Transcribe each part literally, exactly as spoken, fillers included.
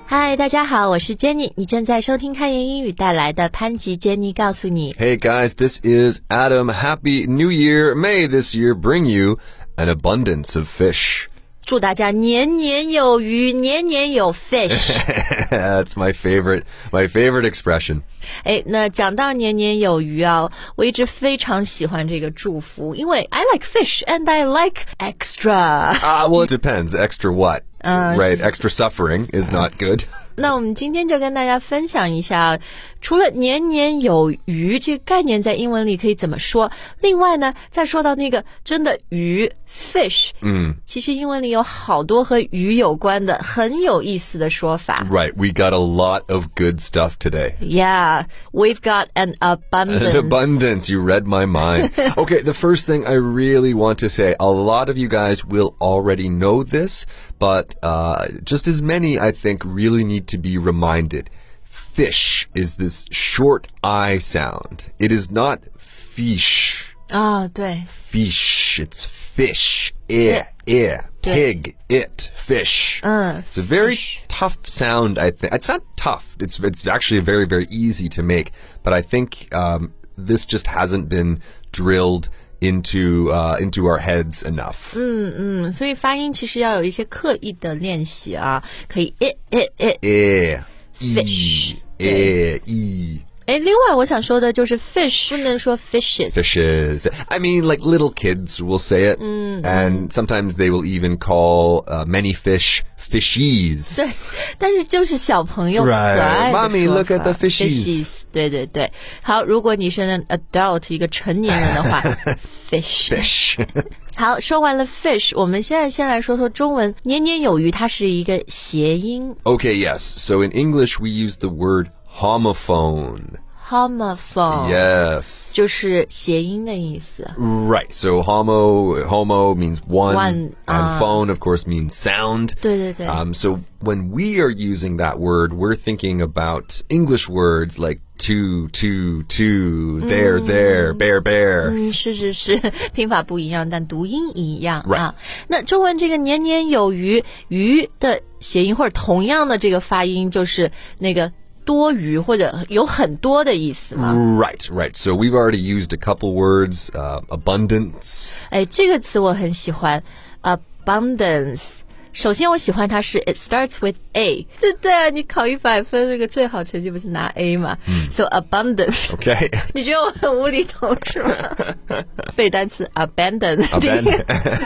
嗨，大家好，我是 Jenny， 你正在收听开言英语带来的潘吉 Jenny 告诉你。 Hey guys, this is Adam. Happy New Year. May this year bring you an abundance of fish. 祝大家年年有余，年年有 fish. That's my favorite, my favorite expression. 哎，那讲到年年有余啊，我一直非常喜欢这个祝福，因为 I like fish and I like extra. Ah, uh, well, it depends. Extra what? Uh, right, extra suffering is not good. 那我们今天就跟大家分享一下，除了年年有余这个概念在英文里可以怎么说，另外呢，再说到那个真的鱼 fish， 嗯，其实英文里有好多和鱼有关的很有意思的说法。 Right, we got a lot of good stuff today. Yeah, we've got an abundance. An abundance, you read my mind. Okay, the first thing I really want to say, a lot of you guys will already know this, but uh, just as many, I think, really need to be reminded. Fish is this short I sound. It is not fish. 啊、oh, 对 Fish, it's fish. Eh, eh. Pig, it, fish. Uh, it's a very fish. tough sound, I think. It's not tough. It's it's actually very, very easy to make. But I think um, this just hasn't been drilled into uh, into our heads enough. 嗯嗯，所以发音其实要有一些刻意的练习啊，可以 it it it Eh, fish. Eh, e. 哎，另外我想说的就是 fish 不能说 fishes. Fishes. I mean, like little kids will say it, mm-hmm. and sometimes they will even call uh, many fish fishies. 对，但是就是小朋友可爱的说法。 Right. Mommy, look at the fishies. fishies. 对对对。好，如果你是 an adult 一个成年人的话fish. Fish. 好，说完了 fish， 我们现在先来说说中文。年年有余，它是一个谐音。 Okay, yes. So in English, we use the word homophone. Homophone. Yes. 就是谐音的意思。 Right. So homo, homo means one, One, and uh, phone, of course, means sound. 对对对。 Um, so when we are using that word, we're thinking about English words like two, two, two, there, there, bear, bear. 嗯，是是是，拼法不一样，但读音一样 Right. 啊。那中文这个年年有余，余的谐音或者同样的这个发音就是那个多余或者有很多的意思嘛。 Right, right. So we've already used a couple words, uh, abundance. 哎，这个词我很喜欢 abundance。首先我喜欢它是 it starts with A， 对对啊，你考一百分那个最好成绩不是拿 A 嘛、嗯、So abundance. Okay. 你觉得我很无厘头是吗？背单词 abandon. Abandon.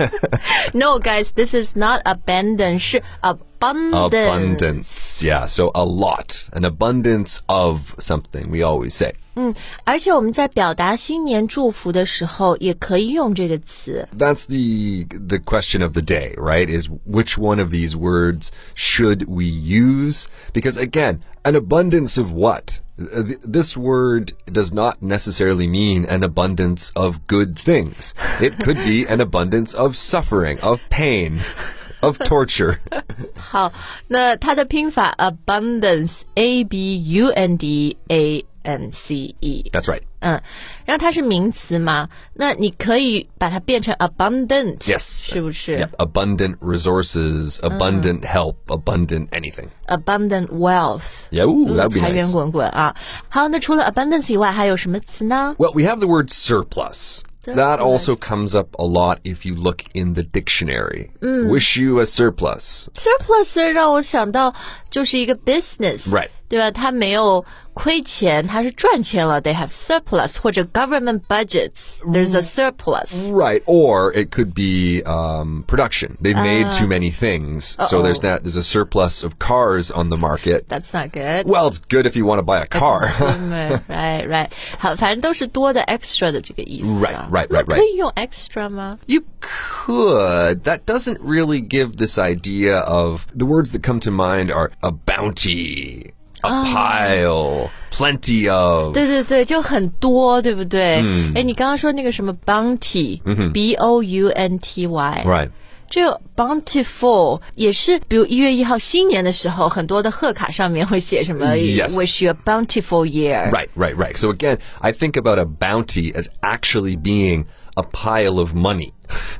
No guys, this is not abandon, 是 abundance. Abundance, yeah. So a lot, an abundance of something, we always say. 嗯，而且我们在表达新年祝福的时候也可以用这个词。 That's the the question of the day, right? Is which one of these words should we use? Because again, an abundance of what? This word does not necessarily mean an abundance of good things. It could be an abundance of suffering, of pain, of torture. 好，那它的拼法 abundance, A B U N D A N C E. That's right. 嗯，然后它是名词嘛，那你可以把它变成 abundant. Yes. 是不是？ Yep. Abundant resources, abundant help, abundant anything. Abundant wealth. Yeah, ooh, that would be 财源 nice. 滚滚啊。好，那除了 abundance 以外，还有什么词呢？ Well, we have the word surplus. That also comes up a lot if you look in the dictionary. Wish you a surplus. Surplus 让我想到就是一个 business. Right. 对吧？它没有亏钱，它是赚钱了。They have surplus 或者 government budgets. There's a surplus. Right, or it could be um, production. They've made too many things, so there's that. There's a surplus of cars on the market. That's not good. Well, it's good if you want to buy a car. Right, right. 好，反正都是多的 extra 的这个意思啊。 Right, right, right, 那 right. 可以用 extra 吗？ You could. That doesn't really give this idea of the words that come to mind are a bounty, a pile, plenty of. 对对对，就很多，对不对？嗯。哎，你刚刚说那个什么 bounty，B O U N T Y。 Right. 这个 bountiful 也是，比如一月一号新年的时候，很多的贺卡上面会写什么 Yes. wish you a bountiful year. Right, right, right. So again, I think about a bounty as actually being a pile of money.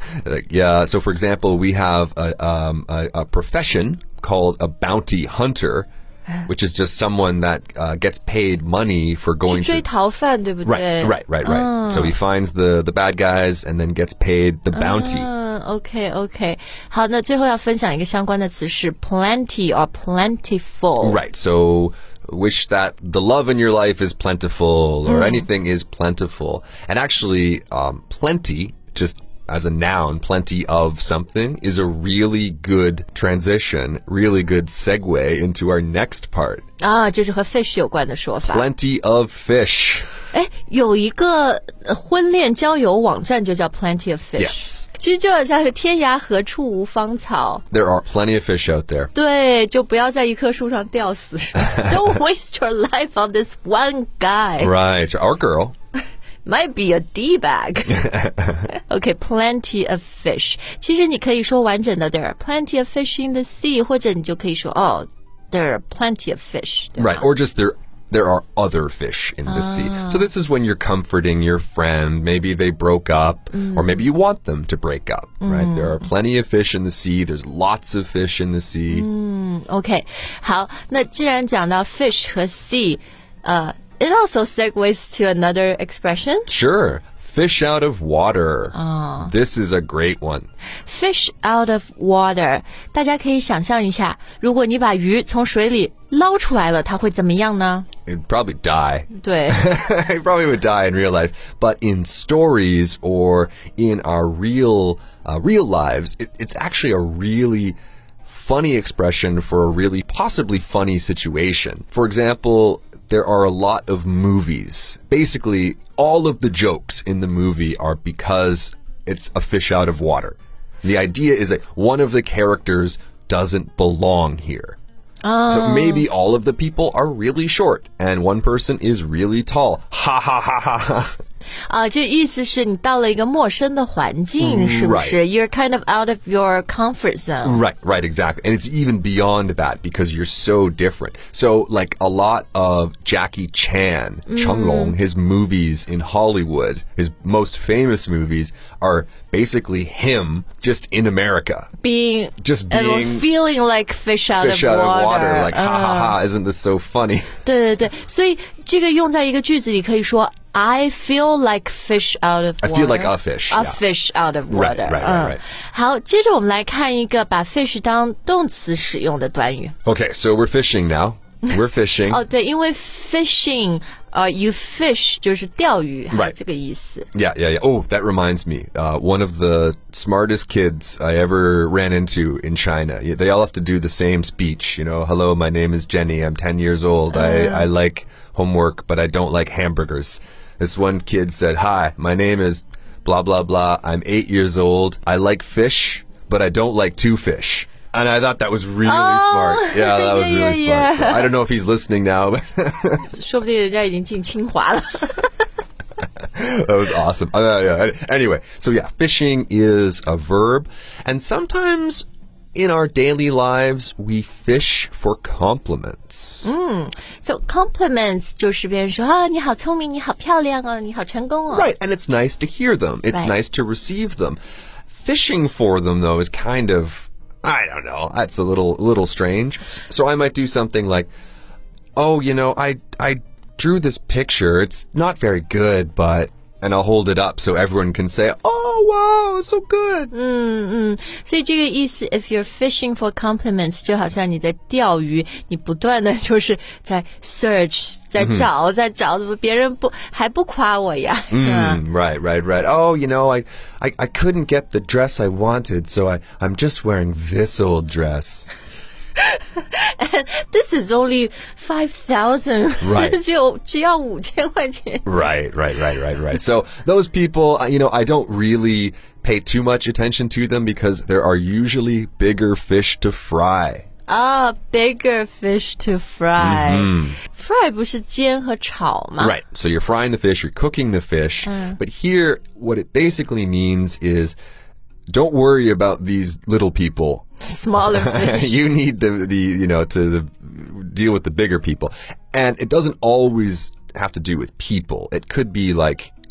Yeah, so for example, we have a, um, a, a profession called a bounty hunter, which is just someone that uh, gets paid money for going to... 去追逃犯，对不对？ Right, right, right, right. Oh. So he finds the, the bad guys and then gets paid the bounty. Uh, okay, okay. 好，那最后要分享一个相关的词是 plenty or plentiful. Right, so wish that the love in your life is plentiful or mm. anything is plentiful. And actually, um, plenty, just as a noun, plenty of something, is a really good transition, really good segue into our next part. 啊，这是和 fish 有关的说法。 Plenty of fish. 哎，有一个婚恋交友网站就叫 Plenty of Fish. Yes. 其实就好像天涯何处无芳草。 There are plenty of fish out there. 对，就不要在一棵树上吊死。Don't waste your life on this one guy. Right, or girl. Might be a D-bag. Okay, plenty of fish. 其实你可以说完整的 There are plenty of fish in the sea, 或者你就可以说哦 There are plenty of fish. Right, or just there there are other fish in the sea. So this is when you're comforting your friend. Maybe they broke up, mm. or maybe you want them to break up, mm. right? There are plenty of fish in the sea. There's lots of fish in the sea. Mm, okay. 好，那既然讲到 fish 和 sea, 呃 It also segues to another expression. Sure. Fish out of water. Oh. This is a great one. Fish out of water. 大家可以想象一下，如果你把鱼从水里捞出来了，它会怎么样呢？ It'd probably die. 对。 It probably would die in real life. But in stories or in our real, uh, real lives, it, it's actually a really funny expression for a really possibly funny situation. For example, there are a lot of movies. Basically, all of the jokes in the movie are because it's a fish out of water. The idea is that one of the characters doesn't belong here. Oh. So maybe all of the people are really short and one person is really tall. Ha ha ha ha ha. 啊，这意思是你到了一个陌生的环境，是不是？ You're kind of out of your comfort zone. Right, right, exactly. And it's even beyond that because you're so different. So, like a lot of Jackie Chan, mm. Changlong, his movies in Hollywood, his most famous movies are basically him just in America. Being, just being, uh, feeling like fish out fish of out water. Of water. Like, ha ha ha, isn't this so funny? 对对对，所以这个用在一个句子里可以说 I feel like fish out of water. I feel like a fish. A yeah. fish out of water. Right, right, right, right. 好，接着我们来看一个把 fish 当动词使用的短语。 Okay, so we're fishing now. We're fishing. 哦，对，因为 fishing, uh, you fish 就是钓鱼， right. 这个意思。 Yeah, yeah, yeah. Oh, that reminds me. Uh, one of the smartest kids I ever ran into in China. They all have to do the same speech. You know, hello, my name is Jenny. I'm ten years old. Uh. I, I like homework, but I don't like hamburgers. This one kid said, hi, my name is blah, blah, blah. I'm eight years old. I like fish, but I don't like to fish. And I thought that was really oh, smart. Yeah, that was yeah, really yeah, smart. So I don't know if he's listening now, but 说不定人家已经进清华了。 That was awesome. Uh, yeah. Anyway, so yeah, fishing is a verb. And sometimes in our daily lives, we fish for compliments. Mm. So compliments 就是别人说啊，你好聪明，你好漂亮哦，你好成功哦。 Right, and it's nice to hear them. It's right. nice to receive them. Fishing for them, though, is kind of, I don't know, that's a little, little strange. So I might do something like, oh, you know, I, I drew this picture. It's not very good, but, and I'll hold it up so everyone can say, oh, wow, it's so good. 嗯嗯，所以这个意思 if you're fishing for compliments 就好像你在钓鱼，你不断的就是在 search 在找、mm-hmm. 在找，怎么别人不还不夸我呀？ Mm, right, right, right. Oh, you know, I, I, I couldn't get the dress I wanted, so I, I'm just wearing this old dress. And this is only five thousand. Right. 只有只要五千块钱。 Right, right, right, right, right. So those people, you know, I don't really pay too much attention to them because there are usually bigger fish to fry. Ah, bigger fish to fry. Mm-hmm. Fry 不是煎和炒吗？ Right. So you're frying the fish, you're cooking the fish. Uh. But here, what it basically means is don't worry about these little people. Smaller fish. You need the, the you know, to the, deal with the bigger people. And it doesn't always have to do with people. It could be like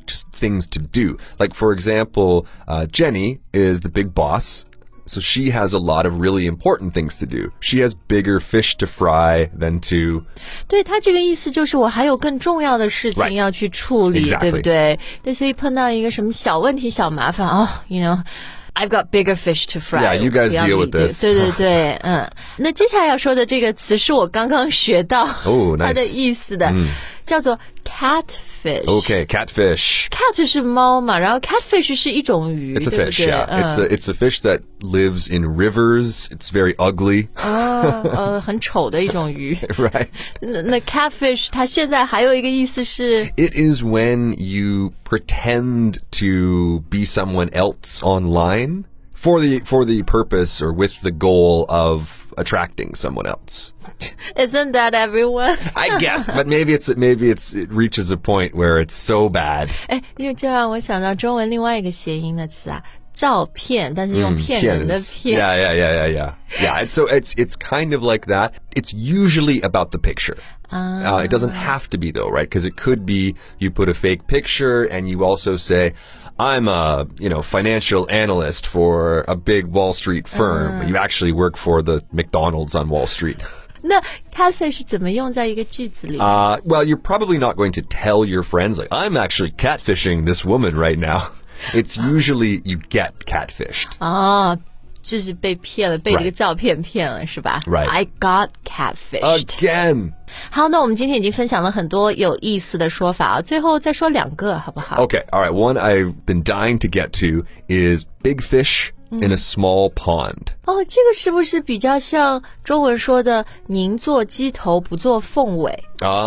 just things to do. Like, for example, uh, Jenny is the big boss. So she has a lot of really important things to do. She has bigger fish to fry than to... 对，他这个意思就是我还有更重要的事情要去处理， Exactly. 对不对？对，所以碰到一个什么小问题、小麻烦，哦 you know, I've got bigger fish to fry. Yeah, you guys deal with this. 对对对，嗯。那接下来要说的这个词是我刚刚学到 Oh, nice. 它的意思的，嗯、叫做 catfish。Okay, catfish. Cat 是猫嘛，然后 catfish 是一种鱼， It's a 对不 fish, 对？ yeah. 嗯、 It's a it's a fish that lives in rivers. It's very ugly. 哦，呃，很丑的一种鱼。 Right. 那那 catfish 它现在还有一个意思是 It is when you pretend to be someone else online for the for the purpose or with the goal of attracting someone else. Isn't that everyone? I guess, but maybe it's maybe it's it reaches a point where it's so bad. 哎，因为这让我想到中文另外一个谐音的词啊，照骗，但是用骗人的骗。 Yeah, yeah, yeah, yeah, yeah. Yeah, it's, so it's it's kind of like that. It's usually about the picture. Uh, it doesn't have to be though, right? Because it could be you put a fake picture and you also say, I'm a, you know, financial analyst for a big Wall Street firm. Uh. You actually work for the McDonald's on Wall Street. 那 catfish 怎么用在一个句子里？ Uh, well, you're probably not going to tell your friends, like, I'm actually catfishing this woman right now. It's usually you get catfished. 哦，就是被骗了，被这个照片骗了，是吧？ Right. I got catfished. Again. 好，那我们今天已经分享了很多有意思的说法啊，最后再说两个，好不好？ Okay, all right. One I've been dying to get to is big fish in a small pond. 哦，这个是不是比较像中文说的“宁做鸡头，不做凤尾”？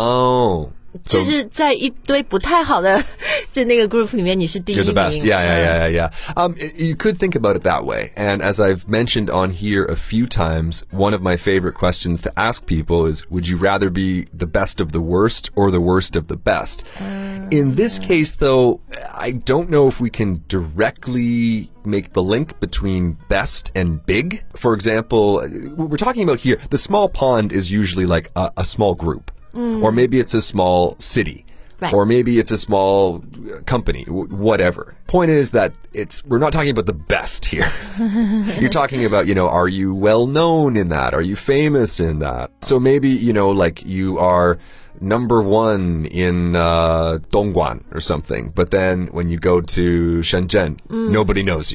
Oh. 就是在一堆不太好的就那个 group 里面，你是第一名。 You're the best. Yeah, yeah, yeah, yeah, yeah. Um, you could think about it that way. And as I've mentioned on here a few times, one of my favorite questions to ask people is, would you rather be the best of the worst or the worst of the best? Uh, In this case, though, I don't know if we can directly make the link between best and big. For example, what we're talking about here, the small pond is usually like a, a small group. Mm. Or maybe it's a small city. Right. Or maybe it's a small company, whatever. Point is that it's we're not talking about the best here. You're talking about, you know, are you well known in that? Are you famous in that? So maybe, you know, like you are number one in uh, Dongguan or something. But then when you go to Shenzhen, mm. nobody knows you.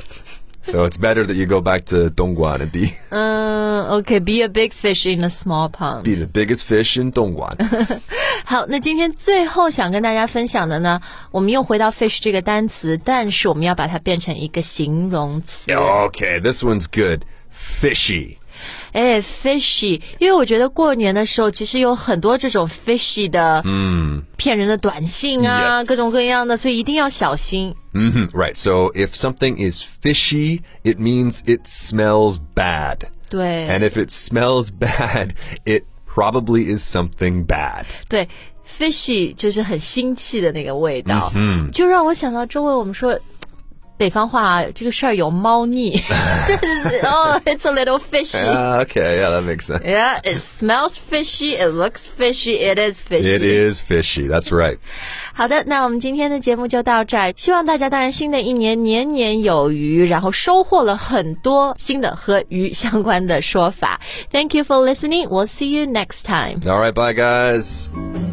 So it's better that you go back to Dongguan and be... Uh, okay, be a big fish in a small pond. Be the biggest fish in Dongguan. 好，那今天最后想跟大家分享的呢，我们又回到 fish 这个单词，但是我们要把它变成一个形容词。 Okay, this one's good. Fishy. 哎 fishy， 因为我觉得过年的时候其实有很多这种 fishy 的嗯骗人的短信啊 yes. 各种各样的，所以一定要小心。 Mm-hmm, right. So if something is fishy, it means it smells bad. 对。 And if it smells bad, it probably is something bad. 对 fishy 就是很腥气的那个味道，嗯，就让我想到中文我们说北方话这个事儿有猫腻。Oh, it's a little fishy. Uh, okay, yeah, that makes sense. Yeah, it smells fishy, it looks fishy, it is fishy. It is fishy, that's right. 好的，那我们今天的节目就到这儿。希望大家当然新的一年年年有余，然后收获了很多新的和鱼相关的说法。Thank you for listening. We'll see you next time. All right, bye guys.